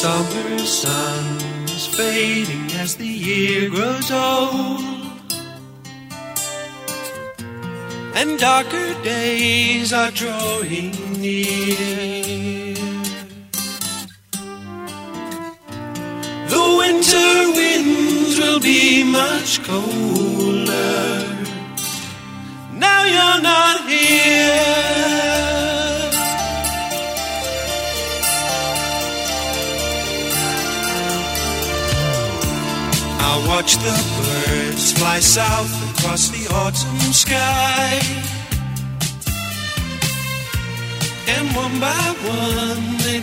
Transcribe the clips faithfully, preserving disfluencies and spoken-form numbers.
summer sun is fading as the year grows old, and darker days are drawing near. The winter winds will be much colder. Now you're not here. I'll watch the birds fly south across the autumn sky, and one by one they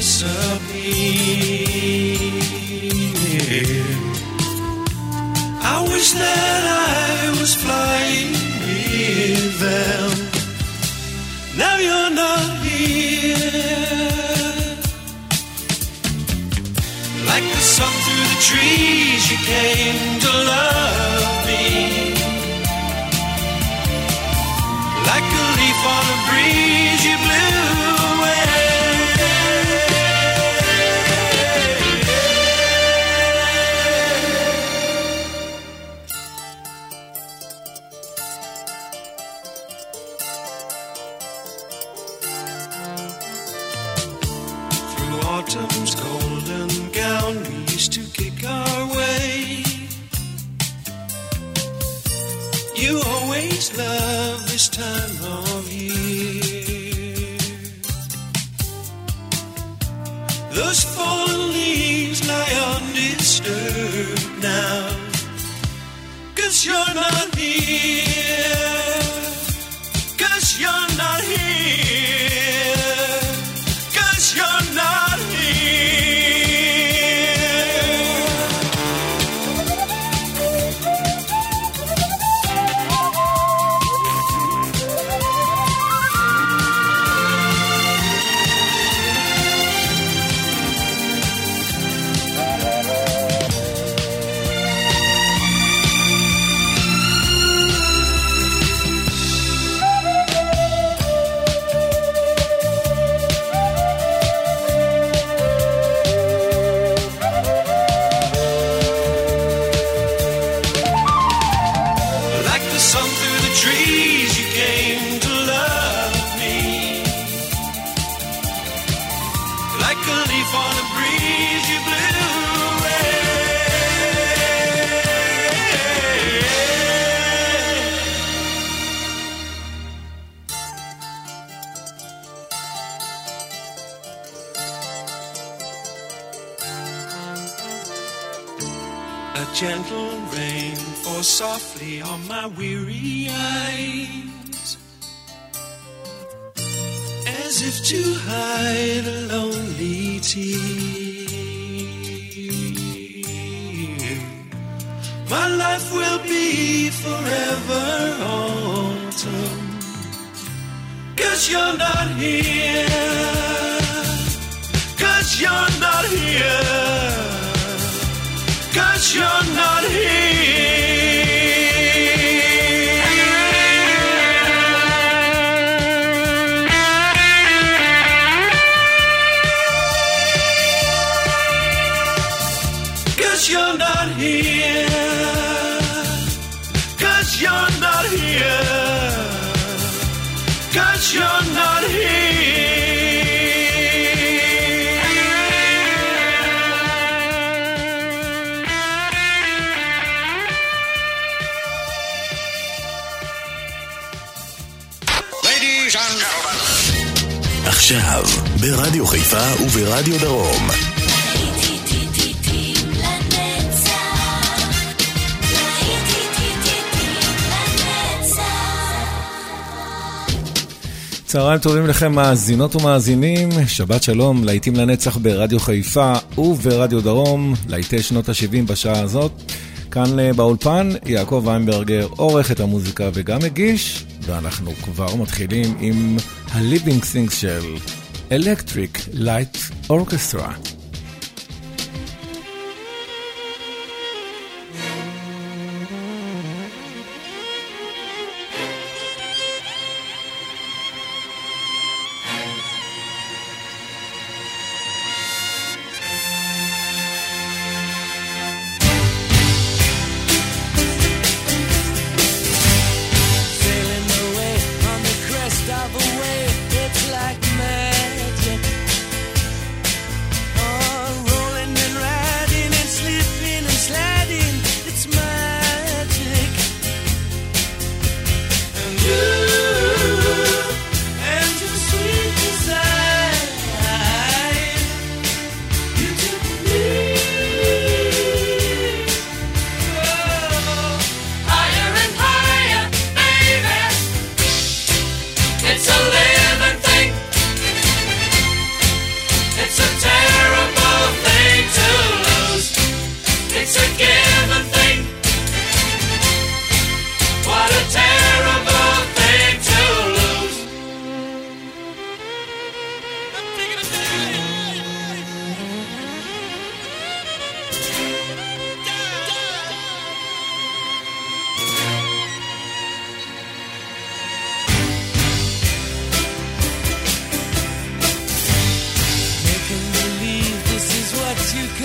disappear. I wish that I was flying with them. Now you're not here. Like the sun through the trees, you came to love me. Like a leaf on a breeze, you blew away. Through autumn's golden gown, we used to kick our way. You always love this time of year. Those fallen leaves lie undisturbed now, 'cause you're not here. 'Cause you're not here. 'Cause you're not here. Gentle rain falls softly on my weary eyes, as if to hide a lonely tear. My life will be forever autumn, 'cause you're not here. 'Cause you're not here. 'Cause you're not here. Cause you're not here. 'Cause you're not here. 'Cause you're not here. עכשיו, ברדיו חיפה וברדיו דרום. צהריים טובים לכם מאזינות ומאזינים, שבת שלום, להיטים לנצח ברדיו חיפה וברדיו דרום, להיטי שנות ה-שבעים בשעה הזאת. כאן באולפן, יעקב ויינברגר עורך את המוזיקה וגם מגיש, ואנחנו כבר מתחילים עם ה-Living Things של Electric Light Orchestra.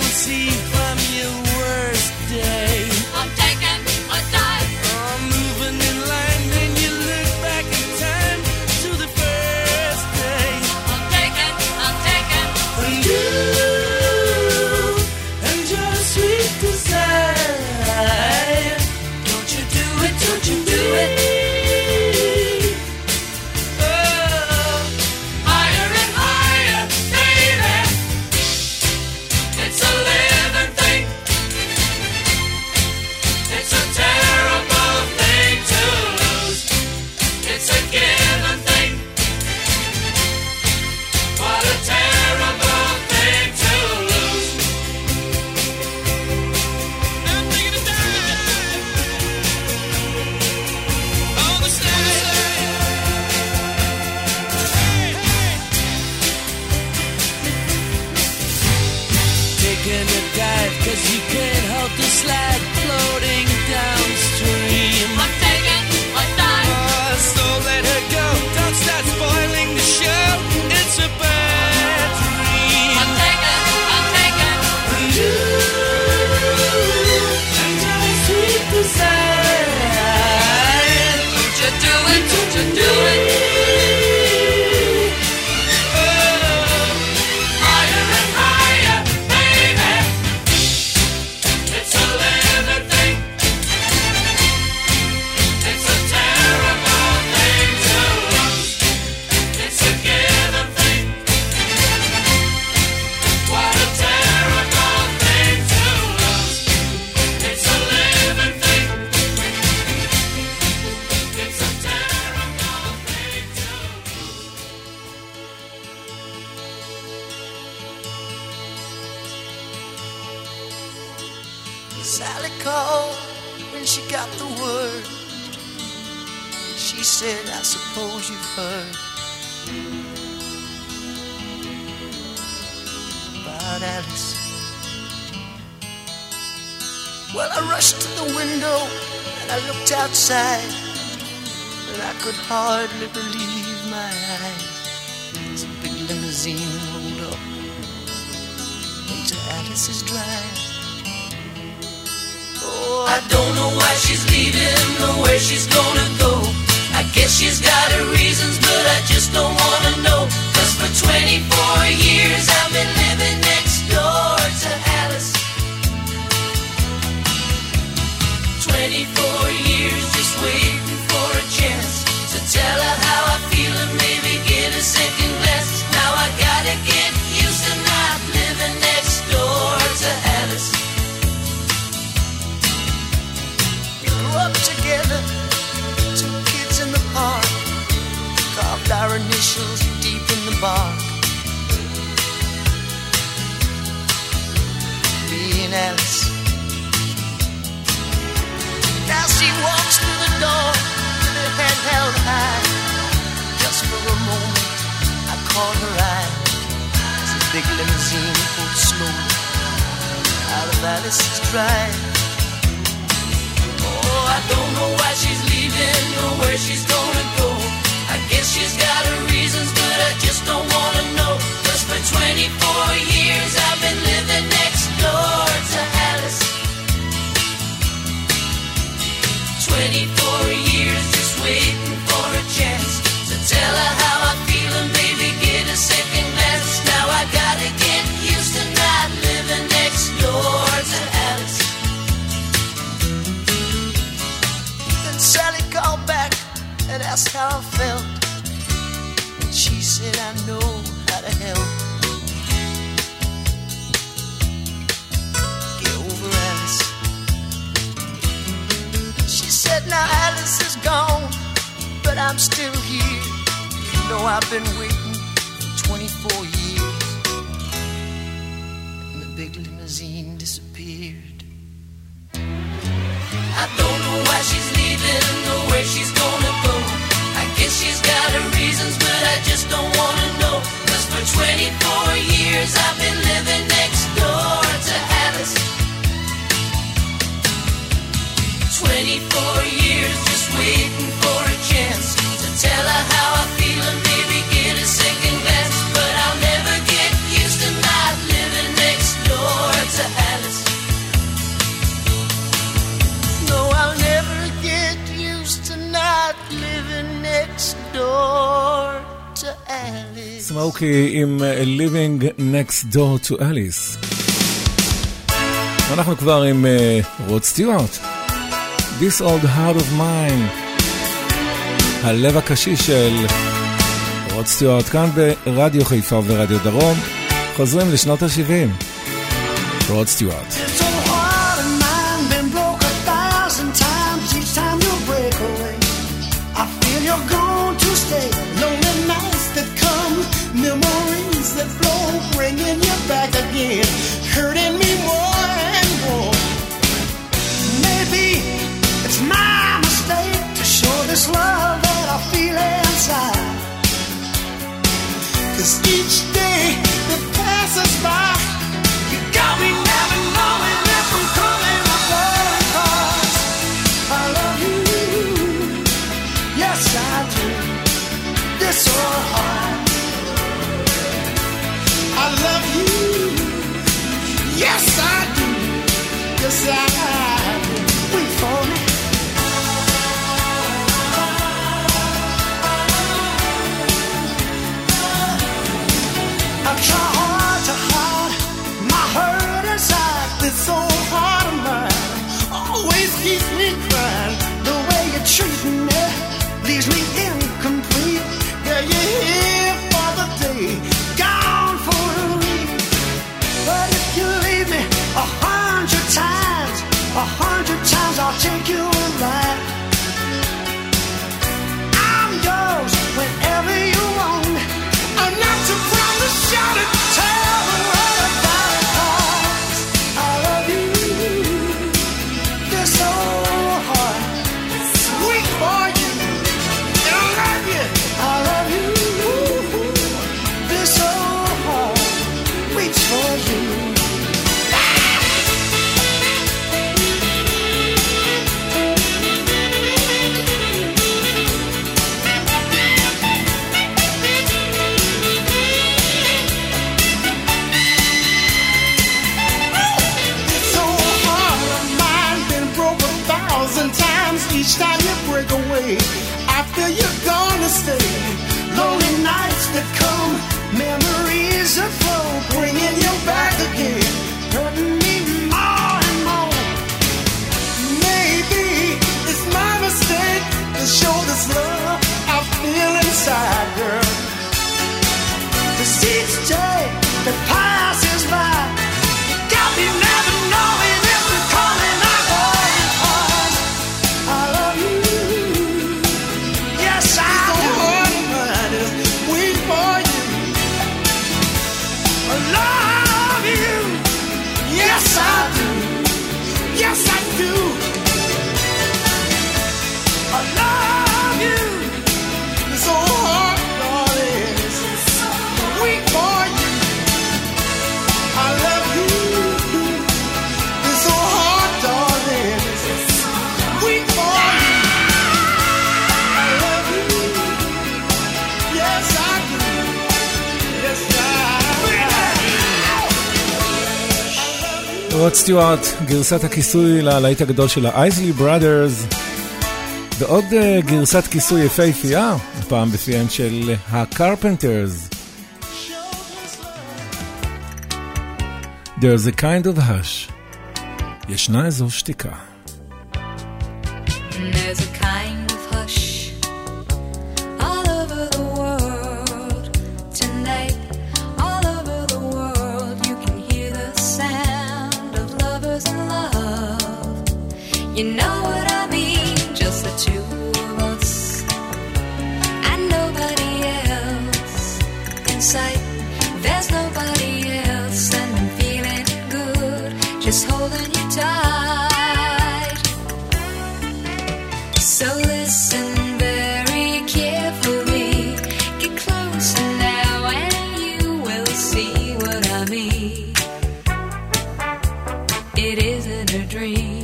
see from your worst day. I'm taking a dive. I'm moving in line when you look back in time to the first day. I'm taking, I'm taking. And you and your sweet desire. Don't you do it, don't you do it. Cause you can't help the slide floating downstream. I'm taking a dive. Oh, so let her go. Don't start spoiling the show. It's a bad dream. I'm taking, I'm taking. And you and your sweet desire. Don't you do it, don't you do it. Sally called when she got the word. She said, I suppose you've heard about Alice. Well, I rushed to the window and I looked outside, and I could hardly believe my eyes. As a big limousine rolled up into Alice's drive. Oh, I don't know why she's leaving or where she's gonna go. I guess she's got her reasons, but I just don't wanna know. Cause for twenty-four years I've been living next door to Alice. twenty-four years just waiting for a chance to tell her how I feel and maybe get a second glance. Now I gotta get used to not living next door to Alice. Up together, two kids in the park, carved our initials deep in the bark. Me and Alice. Now she walks through the door with her head held high. Just for a moment, I caught her eye as the big limousine pulled slowly out of Alice's drive. Oh, I don't know why she's leaving or where she's gonna go. I guess she's got her reasons, but I just don't wanna know. Cause for twenty-four years I've been living next door to Alice. twenty-four years just waiting for a chance to tell her how I feel and maybe get a second glance. Now I gotta get used to not living next door to Alice. Sally called back and asked how I felt, and she said, I know how to help. Get over Alice. She said, now Alice is gone, but I'm still here. You know I've been waiting for twenty-four years. And the big limousine disappeared. I don't know why she's leaving or where she's gonna go. I guess she's got her reasons, but I just don't wanna know. Cause for twenty-four years I've been living next door to Alice. twenty-four years just waiting for a chance to tell her how I feel and maybe get a second glance. But I'll never get used to not living next door to סמוקי עם Living Next Door to Alice. אנחנו כבר עם רוד סטיוארט. This Old Heart of Mine. הלב הקשיש של רוד סטיוארט כאן ברדיו חיפה ורדיו דרום. חוזרים לשנות ה-שבעים. רוד סטיוארט. Memories that flow, bringing you back again, hurting me more and more. Maybe it's my mistake to show this love that I feel inside. 'Cause each day that passes by, you got me never knowing if I'm coming or going. 'Cause I love you, yes I do. This old heart. I love you, yes I do, yes I do. Wait for me. I try hard to hide my hurt inside. This old heart of mine always keeps me crying. The way you treat me leaves me incomplete. Yeah, you're here for the day, gone for a week. But if you leave me a hundred times, a hundred times I'll take you alive. I'm yours whenever you want me. I'm not too proud to shout it, tell the world about it. 'Cause I love you, this old heart, weak for you, and I love you, I love you. This old heart waits for you. This old heart of mine been broke a thousand times. Each time you break away, I feel you're gonna stay. Lonely nights that come, memories that flow, bringing you back again, hurting me more and more. Maybe it's my mistake to show this love I feel inside, girl. 'Cause each day that passes by, you got me never knowing if I'm coming or going. 'Cause I love you, yes I do. Wait for you, I love you, yes I do, yes I do. I love you, this old heart, darling, wait for you. I love you, this old heart, darling, wait for you. I love you, yes I do, yes I do. רוד סטיוארט, גרסת הכיסוי ללהיט הגדול של האייזלי בראדרס, ועוד uh, גרסת כיסוי יפהפייה, הפעם בפיהם של הקרפנטרס. There's a kind of hush. ישנה איזו שתיקה. There's a kind of hush all over the world tonight. All over the world, you can hear the sound of lovers in love. You know what I mean? Just the two of us and nobody else in sight. There's nobody else, and I'm feeling good, just holding you tight. So listen very carefully, get closer now and you will see what I mean. It isn't a dream.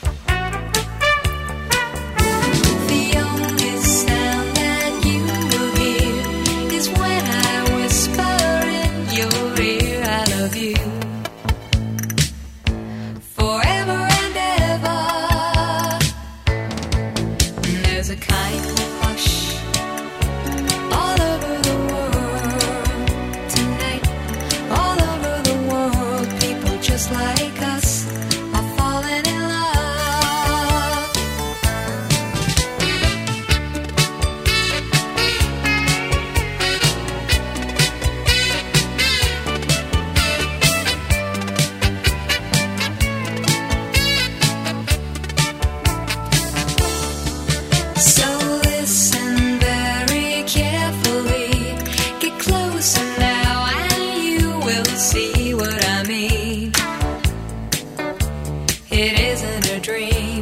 The only sound that you will hear is when I whisper in your ear, I love you. Forever and ever. There's a kind of hush all over the world it isn't a dream.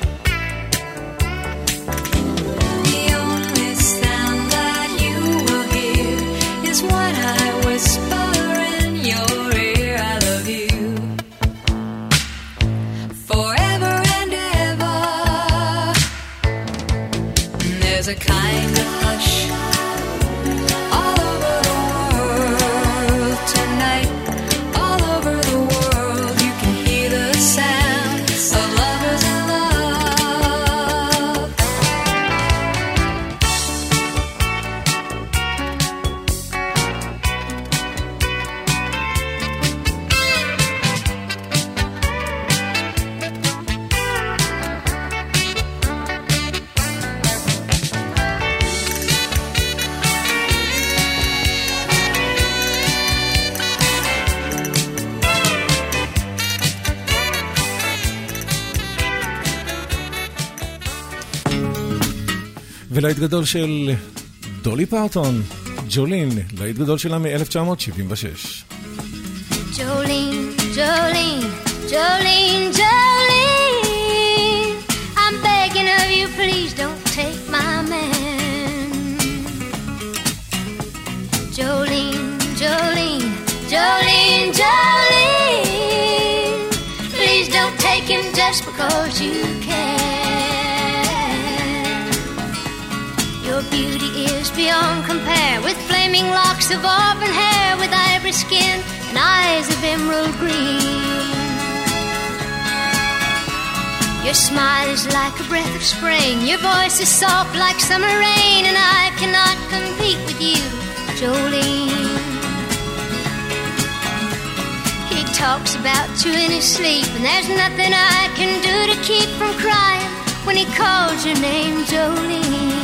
The only sound that you will hear is what I whisper in your ear. I love you forever and ever. And there's a kind of hush all over the world tonight. All over the world you can hear the sound of lovers in love. ולהיט גדול של דולי פרטון, ג'ולין, להיט גדול שלה מ-אלף תשע מאות שבעים ושש. Jolene, Jolene, Jolene, Jolene, I'm begging of you, please don't take my man. Jolene, Jolene, Jolene, Jolene, please don't take him just because you can. Your beauty is beyond compare, with flaming locks of auburn hair, with ivory skin and eyes of emerald green. Your smile is like a breath of spring, your voice is soft like summer rain, and I cannot compete with you, Jolene. He talks about you in his sleep, and there's nothing I can do to keep from crying when he calls your name, Jolene.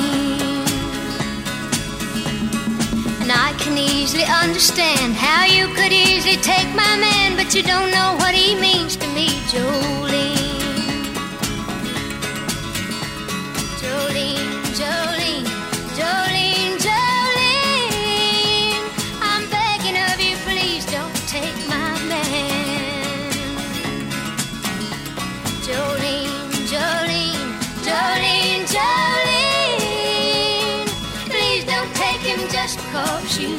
And I can easily understand how you could easily take my man, but you don't know what he means to me, Jolene. Jolene, Jolene, Jolene, Jolene, I'm begging of you, please don't take my man. Jolene, Jolene, Jolene, Jolene, please don't take him just because you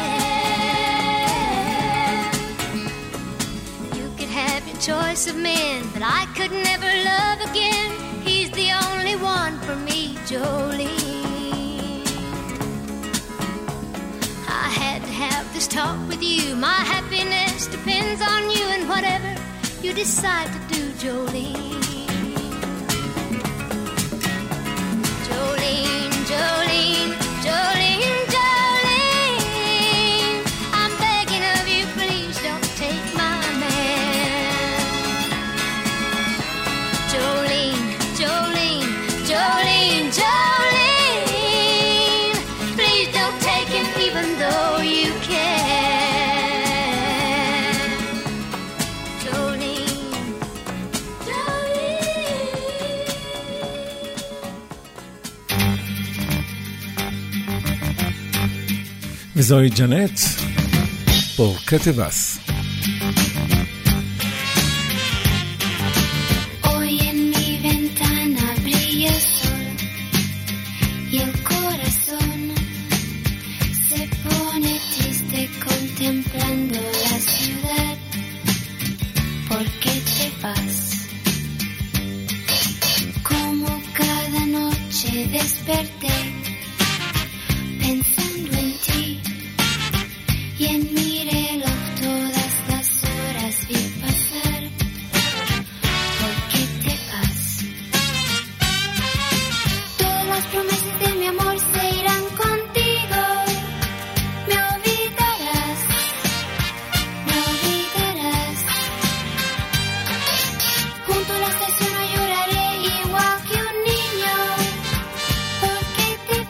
can. You could have your choice of men, but I could never love again. He's the only one for me, Jolene. I had to have this talk with you. My happiness depends on you, and whatever you decide to do, Jolene. Jolene, Jolene, Jolene, Jolene, I'm begging of you, please don't take my man. Jolene, Jolene, Jolene, Jolene, please don't take him even though you can. Jolene, Jolene. וזוהי ג'נט, פור קטבס. Hoy en mi ventana brilla el sol y el corazón se pone triste contemplando la ciudad. ¿Por qué te vas? Como cada noche desperté pensando en ti y en mi reloj todas las horas vi pasar. ¿Por qué te vas? Todas las promesas de mi amor se irán contigo. Me olvidarás, me olvidarás. Junto a la estación no lloraré igual que un niño. ¿Por qué te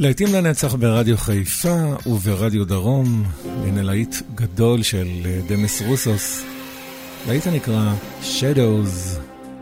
להיטים לנצח ברדיו חיפה וברדיו דרום, הנה להיט גדול של דמס רוסוס, להיט הנקרא Shadows.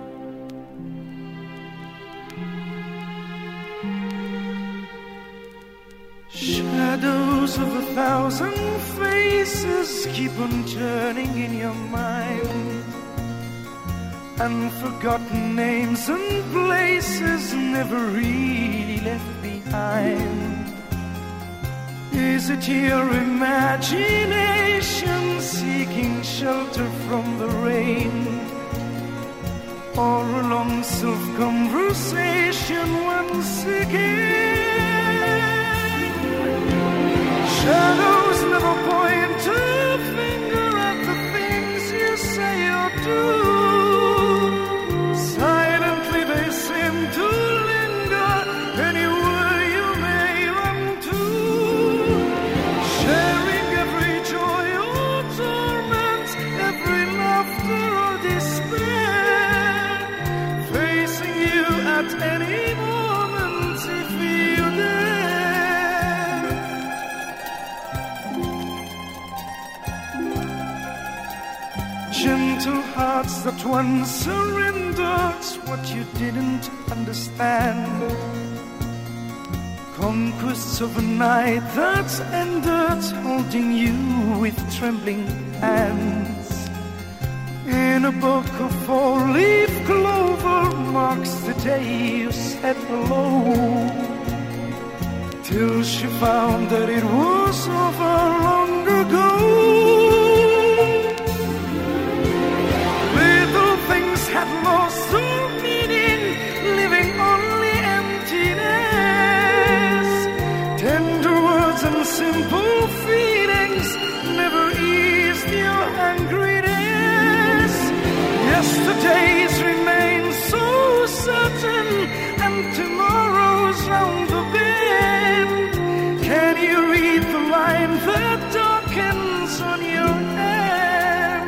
Shadows of a thousand faces keep on turning in your mind, and forgotten names and places never really left behind. Is it your imagination seeking shelter from the rain, or a long self-conversation once again? Shadows never point a finger at the things you say or do. Silently they seem to linger anywhere you may run to, sharing every joy or torment, every laughter or despair, facing you at any moment if you dare. Gentle hearts that once surrendered what you didn't understand, conquests of a night that's ended, holding you with trembling hands. In a book of four-leaf clover marks the day you said hello, till she found that it was over long ago. Little things had lost their meaning, living only emptiness. Tender words and simple feelings never eased your angriness. Yesterdays remain so certain, and tomorrow's round the bend. Can you read the line that darkens on your hand?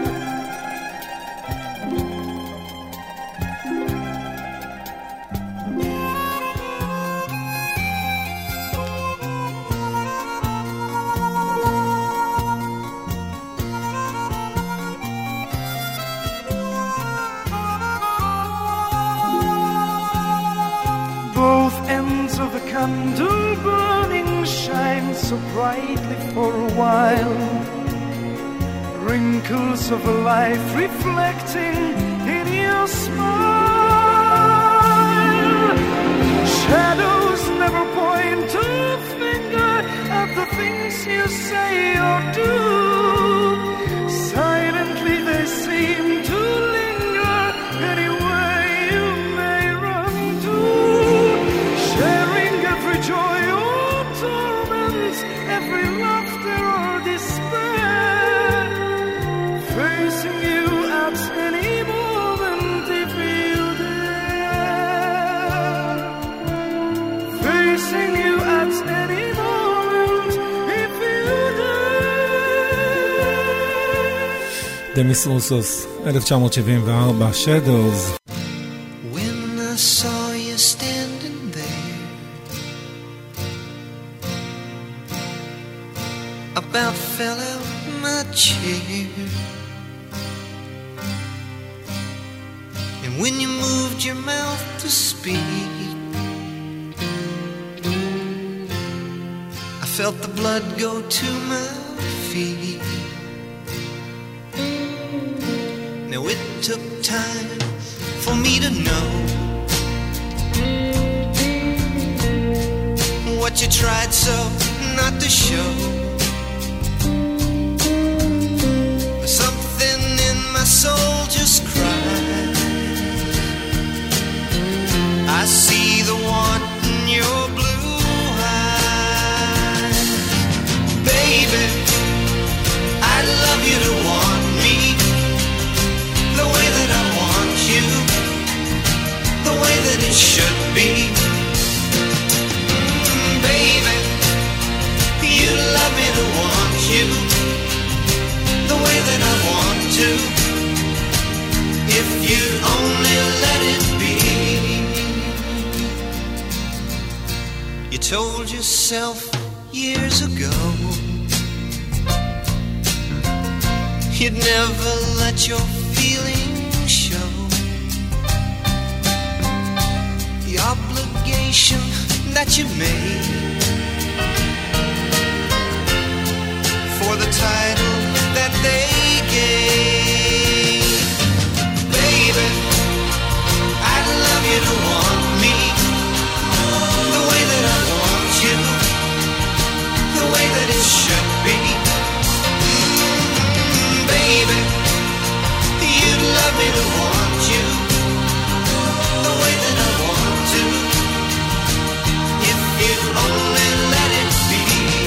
Both ends of the candle burning shine so brightly for a while, wrinkles of a life reflecting in your smile. Shadows never point a finger at the things you say or do. Silently they seem to linger anywhere you may run to, sharing every joy or torment, every laughter or despair, facing you at any moment if you dare, facing you at any moment if you dare. דמיס רוסוס, אלף תשע מאות שבעים וארבע, Shadows. When I saw you standing there, about fell out my chair. And when you moved your mouth to speak, I felt the blood go to my feet. Now it took time for me to know what you tried so not to show. Something in my soul just cried. I see the want in your blue eyes. Baby, I'd love you to want me the way that I want you, the way that it should be. Mm, baby, you love me to want you the way that I want to, if you'd only let it be. You told yourself years ago you'd never let your feelings show. The obligation that you made for the title that they gave. Baby, I'd love you to want me the way that I want you, the way that it should be. Mm, baby, you'd love me to want you the way that I want to, if you'd only let it be.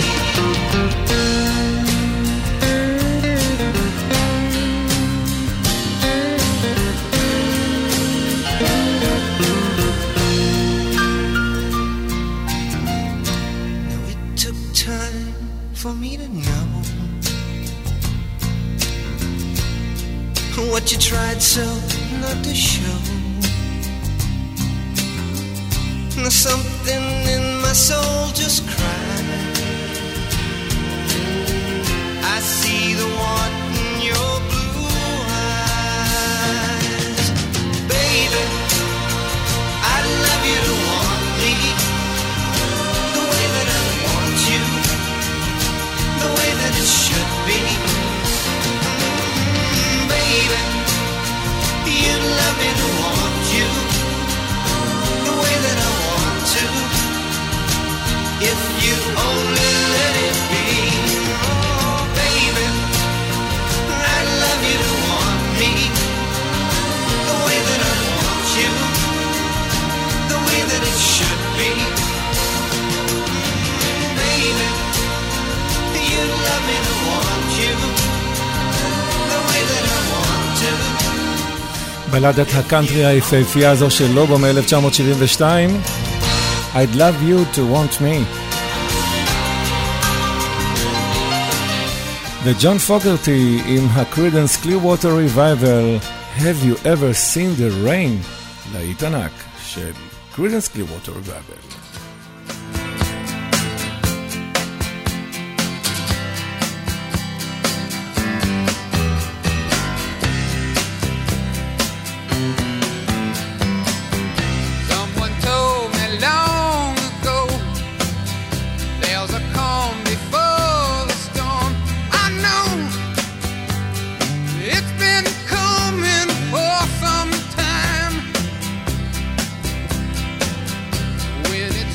For me to know what you tried so not to show. Something in my soul just cried. I see the want in your blue eyes. Baby, I'd love you to want me the way that I want you, the way that it should be. Mm, baby, you'd love me to want you the way that I want to, if you only let it be. Oh, baby, I'd love you to want me the way that I want you, the way that it should be. Mm, baby, you'd love me to want you the way that I want to. בלדת הקאנטרי היפהפייה הזו של לובו מ-אלף תשע מאות שבעים ושתיים, I'd love you to want me. וג'ון פוגרטי עם ה-Creedence Clearwater Revival, Have you ever seen the rain? להיט ענק של Creedence Clearwater Revival. When it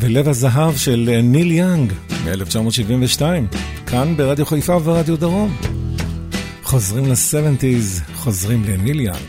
ולב הזהב של ניל יאנג מ-אלף תשע מאות שבעים ושתיים, כאן ברדיו חיפה וברדיו דרום. חוזרים ל-שבעים, חוזרים לניל יאנג.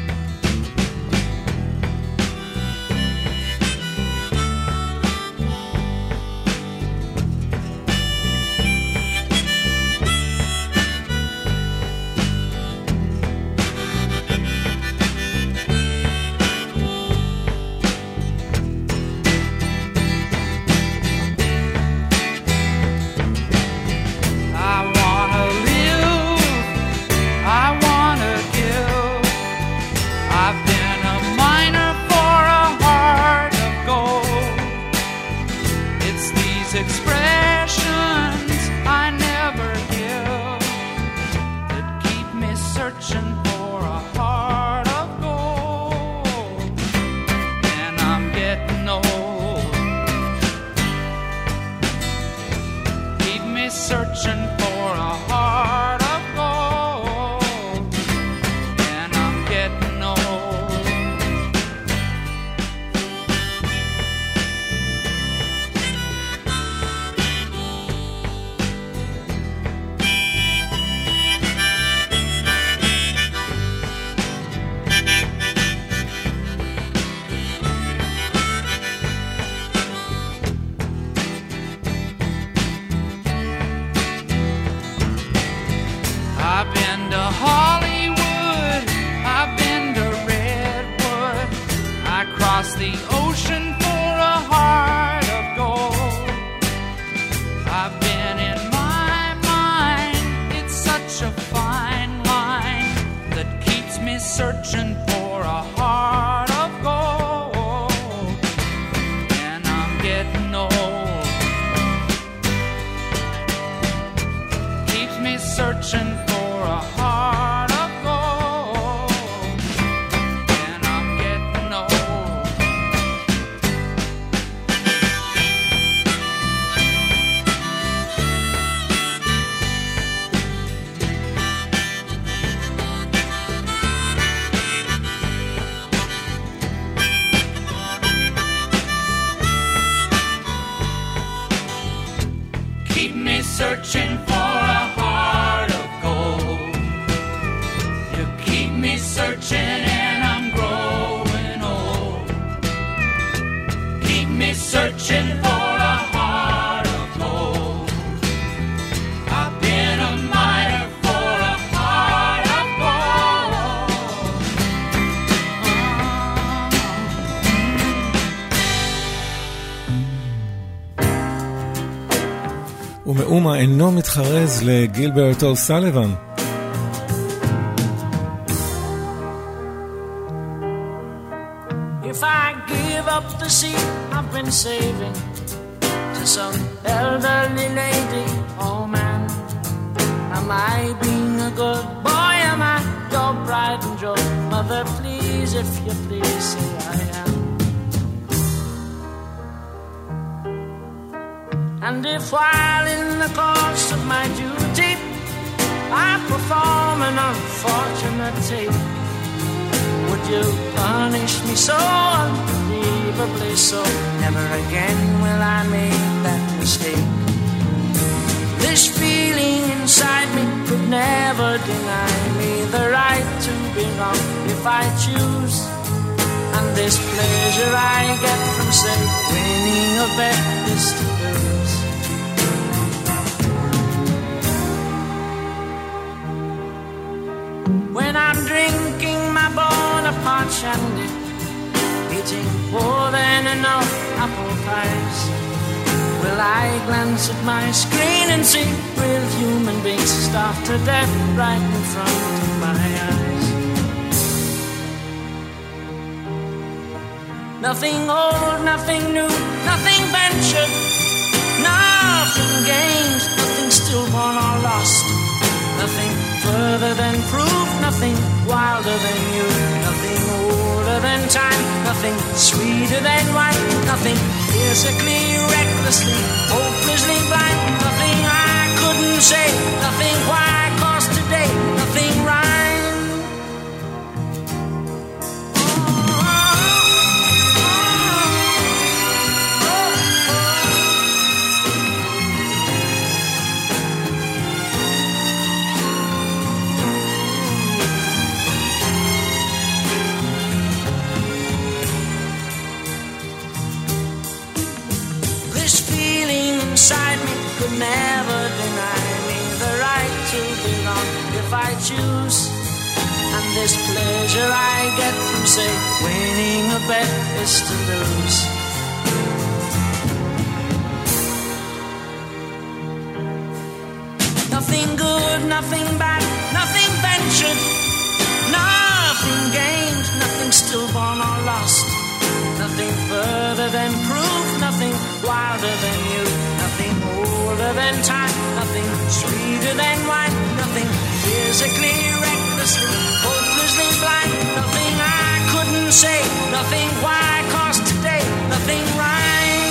Searching for a heart of gold. You keep me searching and I'm growing old. Keep me searching for a heart of gold. I've been a miner for a heart of gold. ומאומה אינו מתחרז לגילברט אוסליבן. If I give up the seat I've been saving to some elderly lady, oh man, am I being a good boy? Am I your pride and joy? Mother, please, if you please, say I am. And if while in the course of my duty I perform an unfortunate tape, would you punish me so unbelievably so? Never again will I make that mistake. This feeling inside me could never deny me the right to be wrong if I choose. And this pleasure I get from, say, winning a bet is to lose. When I'm drinking my Bonaparte shandy, eating more than enough apple pies, will I glance at my screen and see real human beings starved to death right in front of my eyes? Nothing old, nothing new, nothing ventured, nothing gained, nothing stillborn or lost, nothing further than proof, nothing wilder than you, nothing older than time, nothing sweeter than wine, nothing physically, recklessly, hopelessly blind, nothing I couldn't say, nothing why, cause today, nothing rhyme. Oh, oh, oh, oh. I choose. And this pleasure I get from, say, winning a bet is to lose. Nothing good, nothing bad, nothing ventured, nothing gained, nothing stillborn or lost. Nothing further than proof, nothing wilder than you, nothing older than time, nothing sweeter than wine, nothing physically, recklessly, hopelessly blind, nothing I couldn't say, nothing why, cause today, nothing right.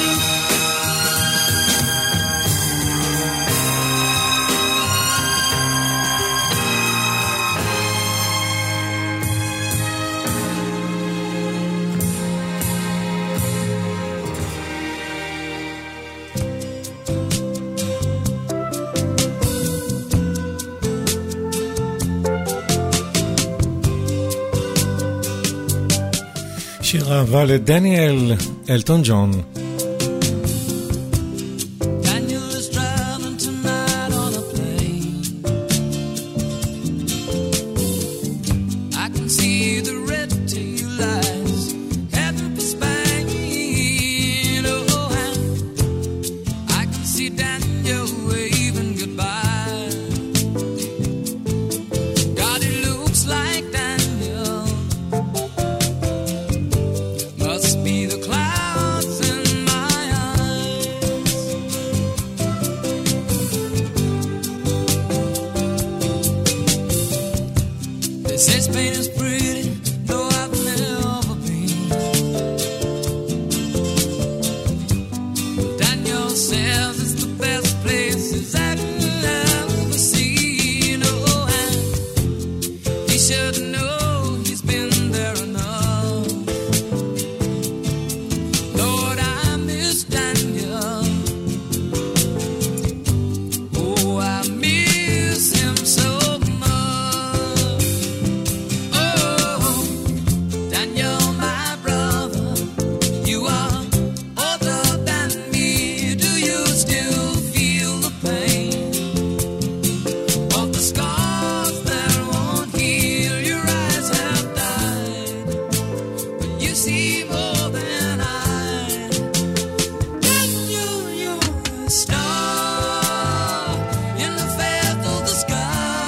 שיר אהבה לדניאל אלטון ג'ון. Daniel is traveling tonight on a plane. I can see the red tail lights heading for Spain. Oh, and I can see Daniel waving goodbye. God, it looks like Daniel must be the clouds in my eyes. They say Spain is pretty, though I've never been. Daniel says it's the best place he's ever seen. Oh, and he should know he's been there enough. Lord, I miss Daniel. Oh, I miss him so much. Oh, Daniel, my brother, you are older than me. Do you still feel the pain of the scars that won't heal? Your eyes have died, but you see more than I. Daniel, you're a star in the faith of the sky.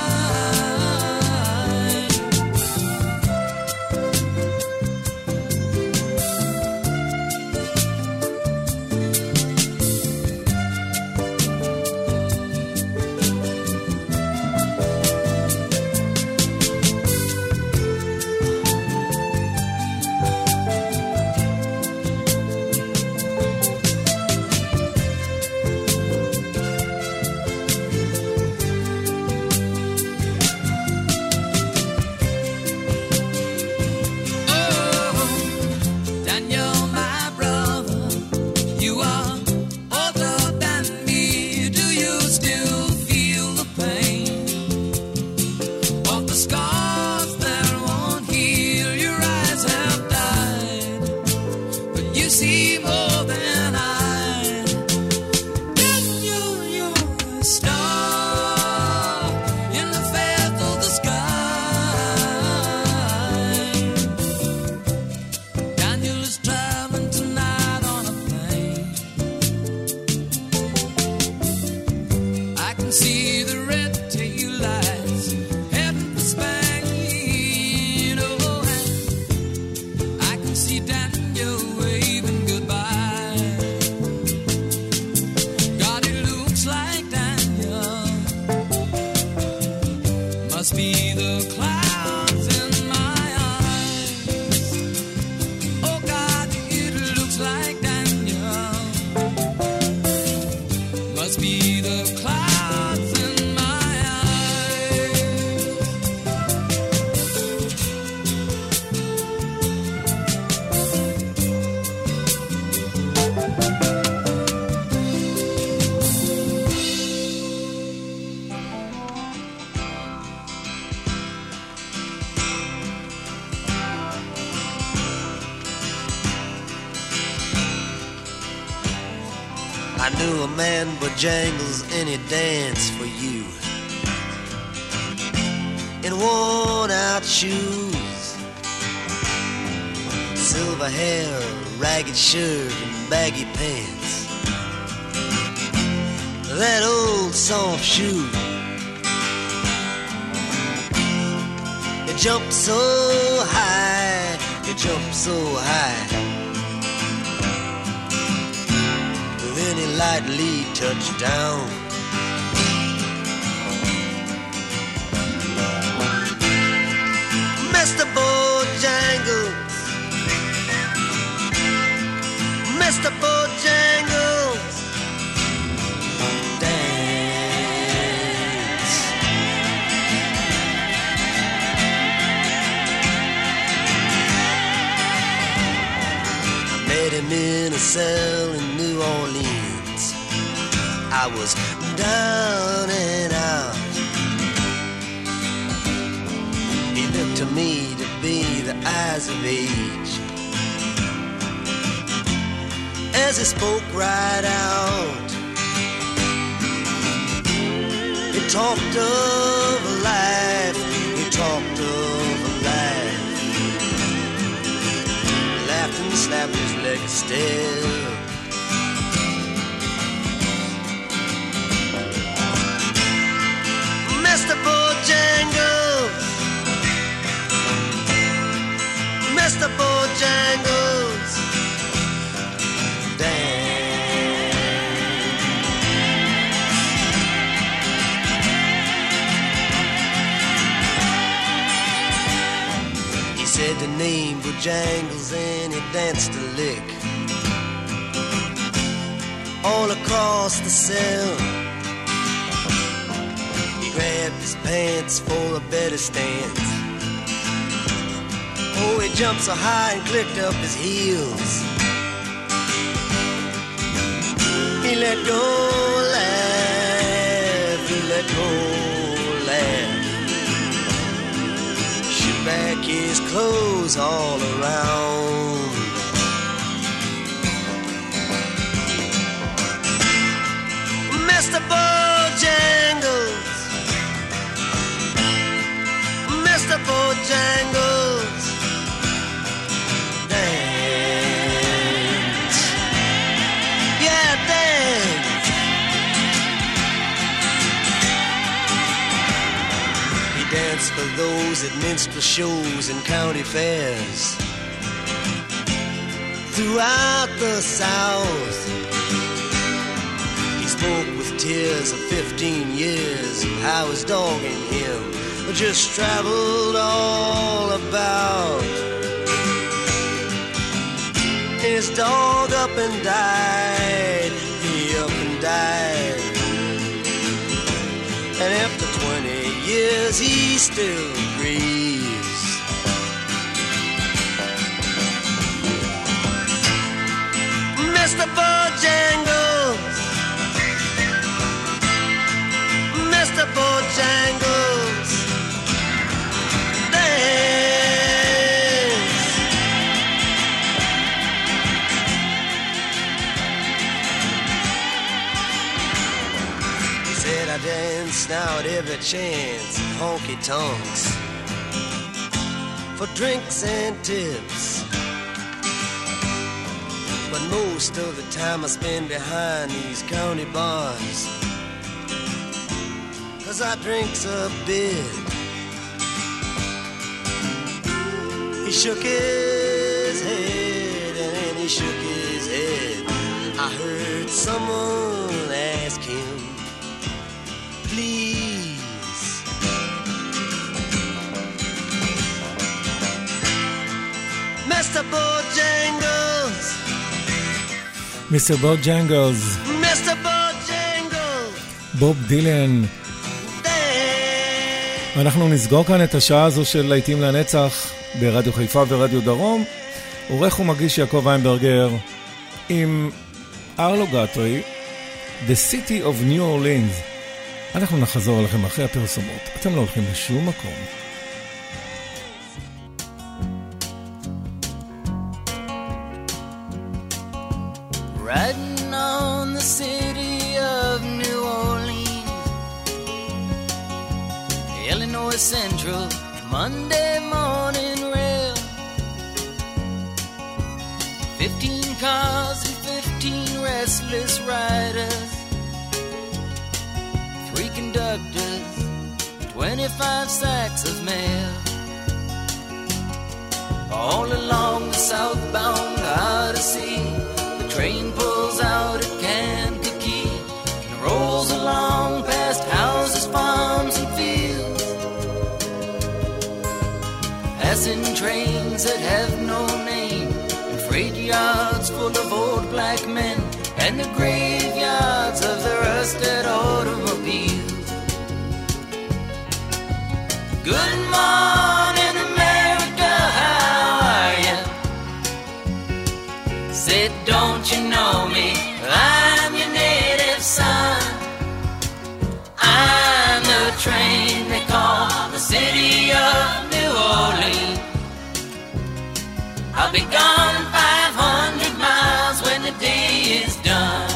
Oh, Daniel, my brother, you are older than me. Do you still feel the pain of the scars that won't heal? Your eyes have died, but you see more than I. Daniel, you're a star in the faith of the sky. Daniel is traveling tonight on a plane. I can see the red tail lights heading for Spain. Oh, and I can see Daniel waving goodbye. God, it looks like Daniel must be the clouds in my eyes. Oh God, it looks like Daniel must be the clouds in my eyes. I knew a man Bojangles and he danced for you. and worn out shoes, silver hair, ragged shirt and baggy pants, that old soft shoe. It jumped so high, it jumped so high, then he lightly touched down. Mister Bojangles, Mister Bojangles, dance. I met him in a cell in New Orleans. I was down and out. He looked to me to be the eyes of age as he spoke right out. He talked of life, he talked of life, laughed and slapped his leg still. Mister Bojangles, Mister Bojangles, dance. He said the name Bojangles and he danced a lick all across the cell. He grabbed his pants for a better stance. Oh, he jumped so high and clicked up his heels. He let go, laugh, he let go, laugh. Shook back his clothes all around. Mister Bojangles, Mister Bojangles, dance, yeah, dance. He danced for those at minstrel shows and county fairs throughout the South. He spoke with tears of fifteen years of how his dog and him just traveled all about. His dog up and died, he up and died, and after twenty years he still grieves. Mister Bojangles, Mister Bojangles, dance. He said I dance now at every chance, honky tonks, for drinks and tips. But most of the time I spend behind these county bars, 'cause I drinks a bit. He shook his head and then he shook his head. I heard someone ask him, please. Mister Bojangles, מיסטר בוג'נגלס, Mister Bojangles, בוב דילן. אנחנו נסגור כאן את השעה הזו של להיטים לנצח ברדיו חיפה ורדיו דרום. עורך ומגיש יעקב איינברגר עם ארלו גטרי, The City of New Orleans. אנחנו נחזור עליכם אחרי הפרסומות. אתם לא הולכים לשום מקום. riding on the city of New Orleans, Illinois Central Monday morning rail. Fifteen cars and fifteen restless riders, three conductors, twenty-five sacks of mail. All along the southbound Odyssey, the train pulls out at Kankakee and rolls along past houses, farms, and fields, passing trains that have no name, and freight yards full of old black men, and the graveyards of the rusted automobiles. Good morning, America, how are you? Said, don't you know me? I'm your native son. I'm the train they call the city of New Orleans. I'll be gone five hundred miles when the day is done.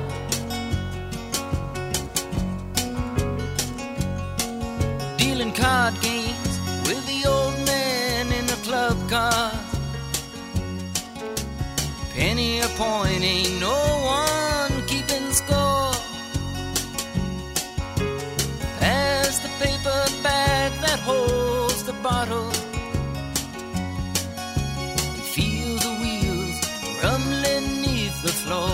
Dealing card games with the old man in the club car. Penny a point, ain't no one keeping score. Pass the paper bag that holds the bottle. Feel the wheels rumbling neath the floor.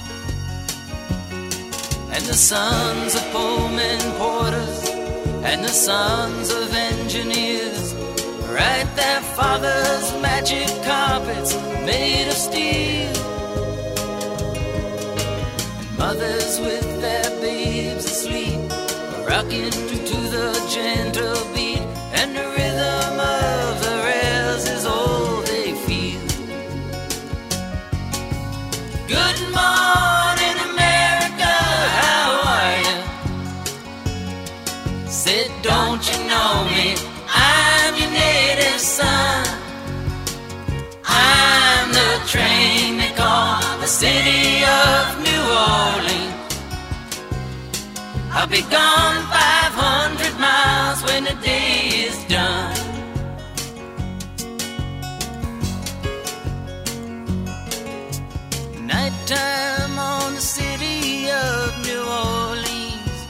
And the sons of Pullman porters and the sons of engineers ride their father's magic carpets made of steel. And mothers with their babes asleep are rocking to the gentle beat, and the rhythm of the rails is all they feel. Good morning, America, how are you? Said, don't you know me? I'm your native son. I'm the train they call the city of New Orleans. I'll be gone five hundred miles when the day is done. Nighttime on the city of New Orleans,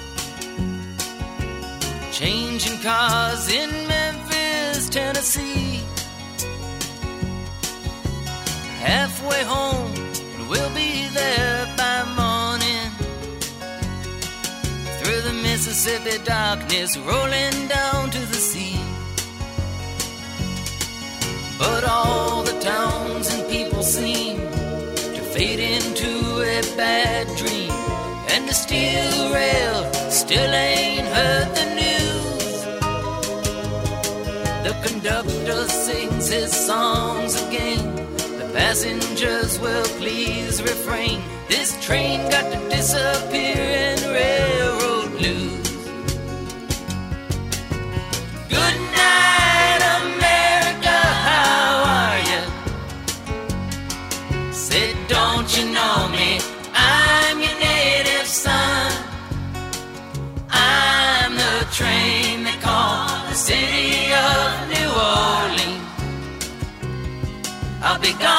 changing cars in Memphis, Tennessee. Halfway home, we'll be there by morning. Through the Mississippi darkness, rolling down to the sea. But all the towns and people seem to fade into a bad dream, and the steel rail still ain't heard the news. The conductor sings his songs again. The passengers will please refrain. This train got to disappear in railroad blues. Good night, America, how are you? Said, don't you know me? I'm your native son. I'm the train they call the city of New Orleans. I'll be gone